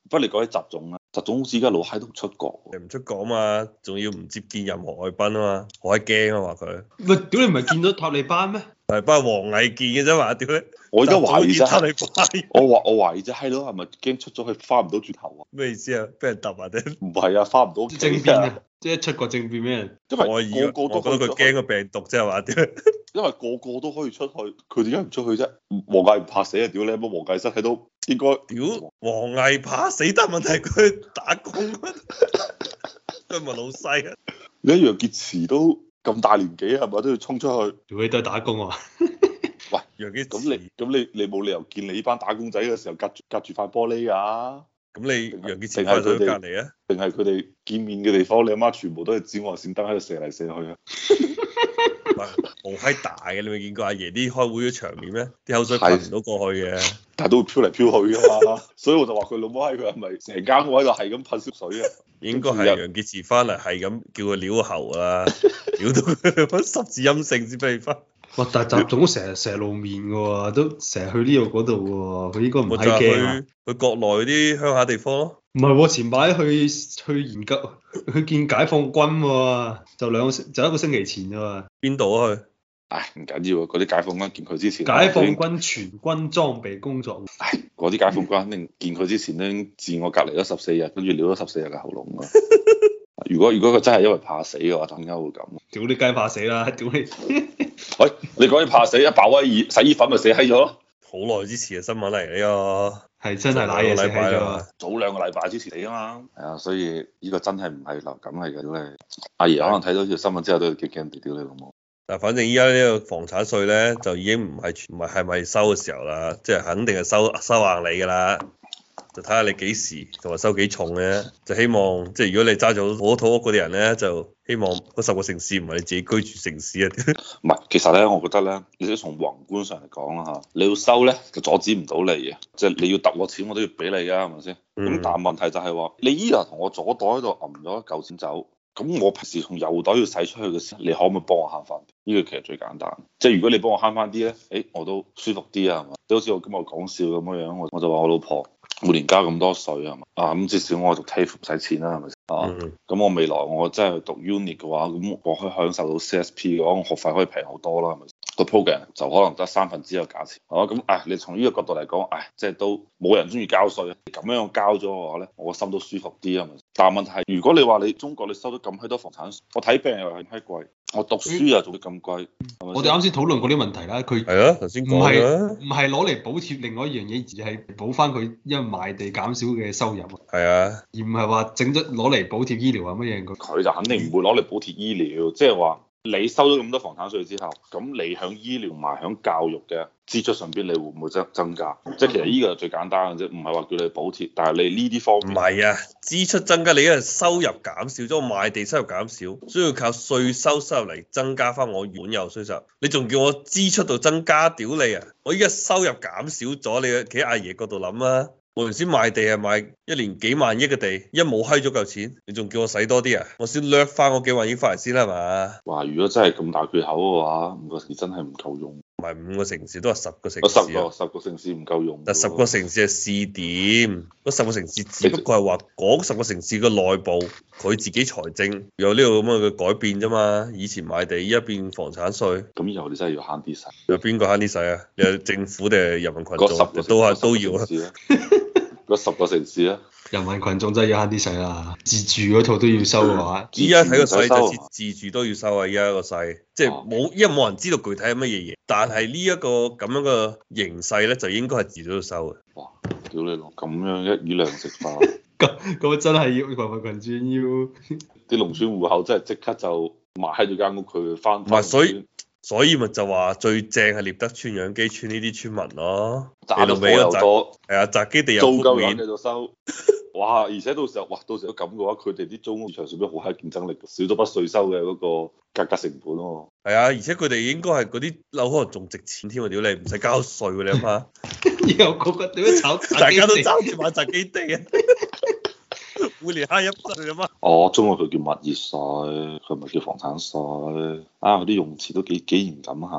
不過你講起習總啊，習總好似而家老閪都唔出國喎。 你唔出國啊嘛，仲要唔接見任何外賓啊嘛，好閪驚啊嘛佢。 喂，屌你唔係見到塔利班咩？ 係不過王毅見嘅啫嘛，屌你！ 我而家懷疑啫， 塔利班我懷疑啫，閪佬係咪驚出咗去翻唔到轉頭啊？ 咩意思啊？俾人揼啊定？ 唔係啊，翻唔到屋企政變啊！即係一出國政變咩人？ 因我以為為個個都我覺得佢驚個病毒啫係嘛？屌！ 因為個個都可以出去，佢點解唔出去啫？王毅唔怕死啊！屌你乜王毅真係都應該屌王毅怕死，但問題佢打工，佢唔係老細啊！ 你一楊潔篪都咁大年紀係咪都要衝出去？ 屌你都係打工啊！ 喂， 楊潔咁你冇理由見你呢班打工仔嘅時候隔住塊玻璃㗎？ 咁你楊潔篪翻到隔離啊？ 定係佢哋見面嘅地方，你阿媽全部都係紫外線燈喺度射嚟射去啊！ 好閪大嘅，你未見過阿爺啲開會嘅場面咩？啲口水噴唔到過去嘅， 但係都會飄嚟飄去㗎嘛，所以我就話佢老母閪佢係咪成間屋喺度係咁噴濕水啊？ 應該係楊潔篪翻嚟係咁叫佢撩喉啦，撩到佢十字陰性先俾你翻。 哇！但係習總成日露面嘅喎，都成日去呢度嗰度嘅喎，佢應該唔係驚啊！ 去國內啲鄉下地方咯。 唔係喎，前排去研究去見解放軍喎，就一個星期前啫嘛。 邊度啊去？ 唉，唔緊要啊，嗰啲解放軍見佢之前， 解放軍全軍裝備工作。 唉，嗰啲解放軍肯定見佢之前都已經自我隔離咗14日，跟住撩咗14日嘅喉嚨啊！如果佢真係因為怕死嘅話，點解會咁？ 屌你雞怕死啦！屌你！ 喂，你講起怕死，鮑威爾洗衣粉咪死閪咗咯？ 好耐之前嘅新聞嚟呢個， 係真係賴嘢死閪咗。 早2個禮拜之前嚟啊嘛。係啊，所以呢個真係唔係流感嚟嘅，屌你！阿爺可能睇到條新聞之後都要驚驚地屌你老母。 但反正依家呢個房產稅咧就已經唔係咪收嘅時候啦，即係肯定係收硬你㗎啦。就睇下你幾時同埋收幾重嘅，就希望即係如果你揸咗好多土屋嗰啲人咧，就希望嗰10個城市唔係你自己居住城市啊。 唔係，其實咧，我覺得咧，你都從宏觀上嚟講啦嚇，你要收咧就阻止唔到你嘅，即係你要揼我錢我都要俾你㗎，係咪先？咁但係問題就係話，你依日同我左袋喺度揞咗一嚿錢走，咁我平時從右袋要使出去嘅時候，你可唔可以幫我慳翻？呢個其實最簡單，即係如果你幫我慳翻啲咧，我都舒服啲啊，係嘛？即好似我今日講笑咁樣，我就話我老婆每年交咁多稅係嘛？咁至少我讀 TAFE 唔使錢啦，係咪先？咁我未來我真係去讀 uni 嘅話，咁我可以享受到 CSP 嘅話，我學費可以平好多啦，係咪？個 program 就可能得3分之一嘅價錢，係嘛？咁你從呢個角度嚟講，即係都冇人中意交稅，咁樣交咗嘅話咧，我個心都舒服啲啊嘛。但係問題係，如果你話你中國你收咗咁閪多房產稅，我睇病又係閪貴，我讀書又做得咁貴， 我哋啱先討論過啲問題啦，佢係啊，頭先講唔係攞嚟補貼另外一樣嘢，而係補翻佢因為賣地減少嘅收入。 係啊， 而唔係話整咗攞嚟補貼醫療啊乜嘢。 佢就肯定唔會攞嚟補貼醫療，即係話你收咗咁多房產稅之後，咁你響醫療同埋響教育嘅支出上邊，你會唔會增加？即係其實呢個係最簡單嘅啫，唔係話叫你補貼，但係你呢啲方面唔係啊，支出增加，你因為收入減少咗，賣地收入減少，所以要靠稅收入嚟增加翻我原有稅收。你仲叫我支出度增加，屌你啊！我依家收入減少咗，你企喺阿爺角度諗啊！我原先賣地係賣1年幾萬億嘅地，一冇閪咗嚿錢，你仲叫我使多啲啊？我先掠翻我幾萬億翻嚟先啦，係嘛？ 哇！如果真係咁大缺口嘅話，5個城市真係唔夠用。 唔係5個城市，都係10個城市。 十個城市唔夠用。 但10個城市係試點，嗰10個城市只不過係話嗰10個城市嘅內部佢自己財政有呢個咁嘅改變啫嘛。以前賣地，依家變房產稅。 咁以後你真係要慳啲使。 有邊個慳啲使啊？你係政府定係人民群眾？都要啊。 嗰10個城市啊， 人民群眾真係要慳啲使啦，自住嗰套都要收嘅話， 依家睇個勢就自住都要收啊！依家個勢，即係冇，因為冇人知道具體係乜嘢嘢，但係呢一個咁樣嘅形勢咧，就應該係自住都收嘅。 哇！屌你老，咁樣一魚兩食化， 咁真係要人民群眾要啲農村戶口真係即刻就賣喺咗間屋佢翻。唔係，所以咪就話最正係獵德村、養基村呢啲村民咯， 賺到又多， 係啊，宅基地又租夠錢繼續收。哇！而且到時候都咁嘅話，佢哋啲租屋市場上邊好閪競爭力，少咗筆稅收嘅嗰個價格成本喎。 係啊，而且佢哋應該係嗰啲樓可能仲值錢添喎，屌你唔使交稅喎，你諗下。 以後個個點樣炒？ 大家都爭住買宅基地啊！每年慳1筆你諗下。 哦，中國佢叫物業稅，佢唔係叫房產稅。啊，嗰啲用詞都幾嚴謹下嘅。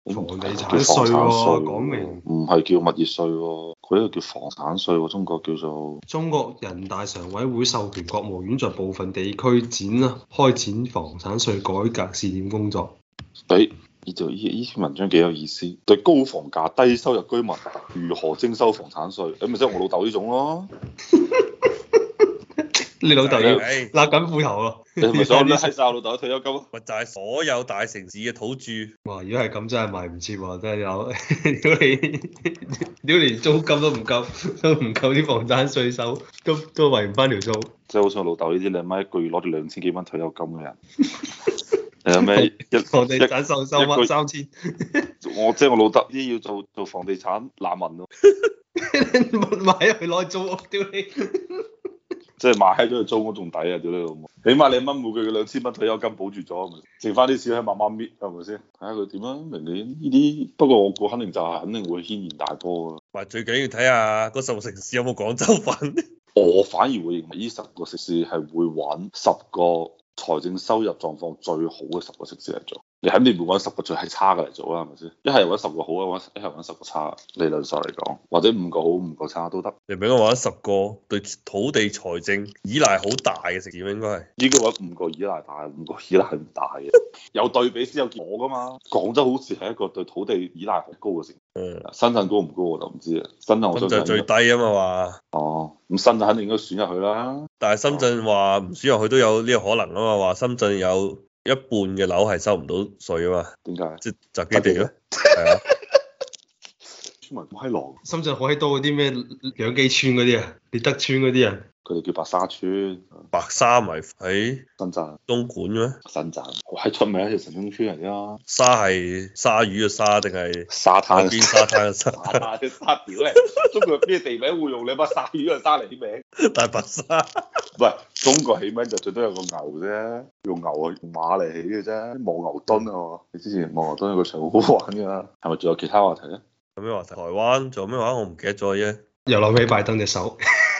房地產叫房稅產喎， 稅講明唔係叫物業稅喎，佢呢個叫房產稅喎，中國叫做。 中國人大常委會授權國務院在部分地區開展房產稅改革試點工作。 誒，呢篇文章幾有意思，對高房價低收入居民如何徵收房產稅？咪即係我老豆呢種咯。 你老豆要唉勒緊褲頭咯。 你係咪想拉晒我老豆嘅退休金啊？ 咪就係所有大城市嘅土著。 哇！如果係咁，真係賣唔切喎，真係有。屌你連租金都唔夠，啲房產稅收，都圍唔翻條數。 即係好似我老豆呢啲，你阿媽一個月攞住2000幾蚊退休金嘅人，你有咩房地產收乜一 3000？ 即係我老豆呢要做房地產難民咯， 買入去攞租屋，屌你！ 即係買閪咗去租屋仲抵啊！屌你老母，起碼你阿媽每個月2000蚊退休金保住咗，咪剩翻啲錢喺慢慢搣，係咪先？睇下佢點啊！明年呢啲，不過我估肯定會軒然大波啊！ 咪最緊要睇下嗰10個城市有冇廣州份。 我反而會認為呢10個城市係會揾10個財政收入狀況最好嘅10個城市嚟做。你肯定唔會揾10個最係差嘅嚟做啦，係咪先？一係揾10個好啊，一係揾10個差。理論上嚟講，或者5個好5個差都得。 你俾我話10個對土地財政依賴好大嘅城市應該係。 應該揾5個依賴大，5個依賴唔大嘅。有對比先有結果㗎嘛。廣州好似係一個對土地依賴好高嘅城市。深圳高唔高我就唔知啦。深圳我想深圳最低啊嘛話。 哦，咁深圳肯定應該選入去啦。 但係深圳話唔選入去都有呢個可能啊嘛，話深圳有一半嘅樓係收唔到稅啊嘛。 點解？ 即係宅基地咯。係啊。 村民好閪狼。 深圳好閪多嗰啲咩養雞村嗰啲啊，獵德村嗰啲啊。 佢哋叫白沙村。 白沙咪喺深圳。 東莞咩？ 深圳好閪出名一條城中村嚟㗎。 沙係鯊魚嘅沙定係沙灘？ 邊沙灘嘅沙？ 沙灘嘅沙屌咧！中國咩地名會用你把鯊魚嘅沙嚟起名？ 大白鯊。 唔係，中國起名就最多有個牛啫，用牛啊用馬嚟起嘅啫，望牛墩啊！你之前望牛墩有個場好好玩㗎，係咪仲有其他話題咧？ 有咩話題？台灣仲有咩話？我唔記得咗啫。 又諗起拜登隻手。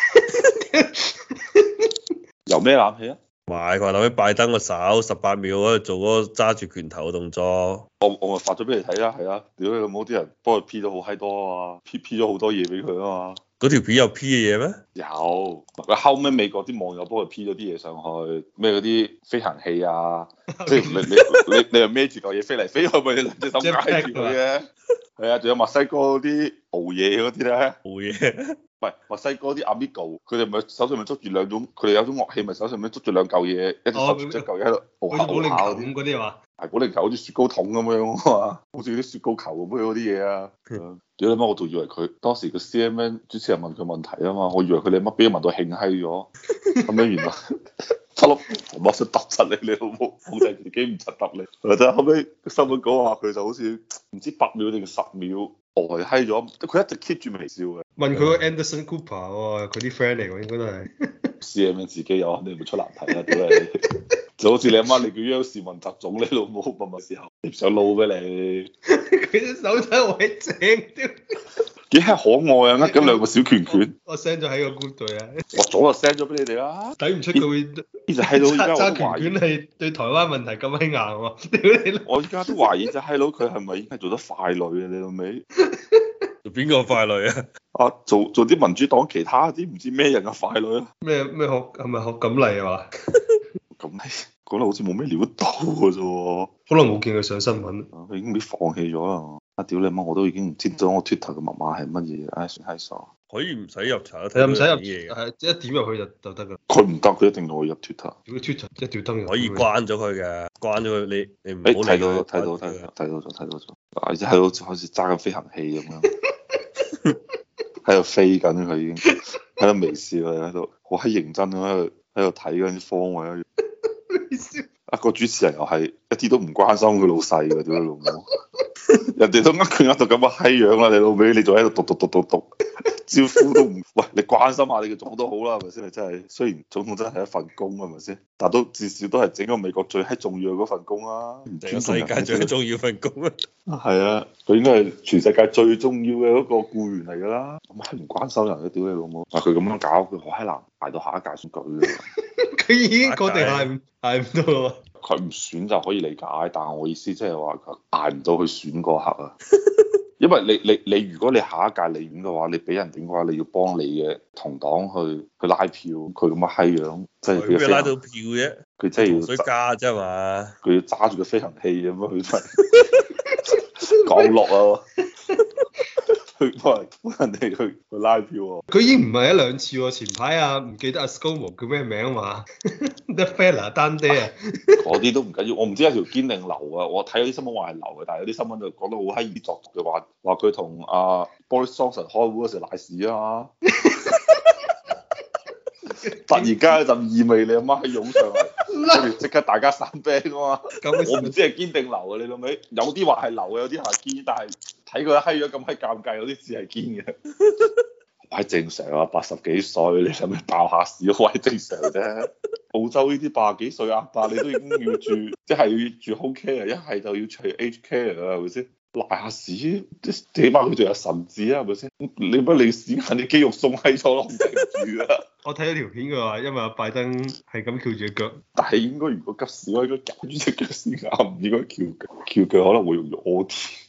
由咩諗起啊？ 買佢話諗起拜登個手18秒嗰度做嗰個揸住拳頭嘅動作。 我咪發咗俾你睇啦，係啊！屌你老母啲人幫佢 P 咗好閪多啊嘛，P 咗好多嘢俾佢啊嘛。 嗰條片有 P 嘅嘢咩？ 有，佢後尾美國啲網友幫佢 P 咗啲嘢上去，咩嗰啲飛行器啊，即係你又孭住嚿嘢飛嚟飛去，咪你兩隻手挨住佢嘅。係啊，仲有墨西哥嗰啲熬嘢嗰啲咧。 冇嘢。 唔係墨西哥啲 Amigo，佢哋咪手上咪捉住兩種，佢哋有種樂器咪手上面捉住兩嚿嘢，一隻手捉住一嚿嘢喺度熬下保齡熬下球嗰啲係嘛？ 係保齡球好似雪糕筒咁樣啊嘛，好似啲雪糕球咁樣嗰啲嘢啊。屌你媽！我仲以為佢當時個 CNN 主持人問佢問題啊嘛，我以為佢哋乜俾問到興閪咗，咁樣原來七粒我想揼柒你，你老母控制自己唔柒揼你。或者後尾新聞講話佢就好似唔知8秒定10秒呆閪咗，佢一直 keep 住微笑嘅。 問佢個 Anderson Cooper 喎，佢啲 friend 嚟喎，應該都係。 CNN 自己有肯定會出難題啦，屌你！就好似你阿媽你叫央視問習總，你老母問問時候，你唔想撈俾你？ 佢隻手真係好鬼正，屌！ 幾係可愛啊！握緊兩個小拳拳。 我 send 咗喺個 group 度啊。 我早就 send 咗俾你哋啦。 睇唔出佢會呢隻閪佬依家我都懷疑揸拳係對台灣問題咁閪硬喎，屌你！ 我依家都懷疑隻閪佬佢係咪已經係做得傀儡啊？你老味？ 做邊個傀儡啊？ 啊，做啲民主黨其他啲唔知咩人嘅傀儡啊？ 咩學係咪學錦麗啊嘛？ 咁講得好似冇咩料到嘅啫喎。 好耐冇見佢上新聞。 佢已經俾放棄咗啦。啊屌你媽！我都已經唔知咗我 Twitter 嘅密碼係乜嘢，唉算閪傻。 可以唔使入查， 係唔使入嘢嘅， 係一點入去就得㗎。 佢唔得，佢一定要我入 Twitter。 如果 Twitter 一條燈可以關咗佢嘅，關咗佢你唔好誒睇到理佢睇到睇到咗，而且喺度好似揸緊飛行器咁樣，喺度飛緊佢已經，喺度微笑啊，喺度好閪認真咁喺度睇緊啲方位。啊個主持人又係一啲都唔關心佢老細㗎，屌你老母！人哋都呃佢呃到咁嘅閪樣啦，你老味你仲喺度讀，招呼都唔喂，你關心下你嘅總統都好啦，係咪先？你真係雖然總統真係一份工，係咪先？但都至少都係整個美國最閪重要嘅嗰份工啊！唔尊重人， 世界最重要份工啊！ 係啊，佢應該係全世界最重要嘅嗰個僱員嚟㗎啦，咁閪唔關心人嘅，屌你老母！啊佢咁樣搞，佢好閪難捱到下一屆選舉㗎。 佢已經確定係唔到咯。 佢唔選就可以理解，但係我意思即係話佢捱唔到去選嗰刻啊。因為你如果你下一屆你選嘅話，你俾人點嘅話，你要幫你嘅同黨去拉票，佢咁嘅閪樣，即係佢邊拉到票啫？ 佢真係要水加啫嘛， 佢要揸住個飛行器咁樣去降落啊！去幫人哋去拉票喎。 佢已經唔係一兩次喎，前排啊唔記得阿 ScoMo 叫咩名啊嘛，The Fella 丹爹啊， 嗰啲都唔緊要，我唔知係條堅定流啊！我睇有啲新聞話係流嘅，但係有啲新聞就講得好閪易作嘅話佢同阿 Boris Johnson 開會嗰時賴屎啊嘛，突然間有陣意味你阿媽湧上嚟，跟住即刻大家散兵啊嘛！我唔知係堅定流啊，你老味有啲話係流嘅，有啲話係堅，但係睇佢閪咗咁閪尷尬，有啲似係堅嘅。係正常啊，80幾歲，你使咩爆下屎？好係正常啫。澳洲呢啲80幾歲阿伯，你都已經要住，即係要住 home care，一係就要住 aged care 啊，係咪先？賴下屎，起碼佢仲有神智啊，係咪先？你乜你屎眼啲肌肉鬆閪咗咯，唔頂住啊！ 我睇咗條片佢話，因為阿拜登係咁翹住腳， 但係應該如果急屎，我應該夾住隻腳先啱，唔應該翹腳，翹腳可能會容易屙添。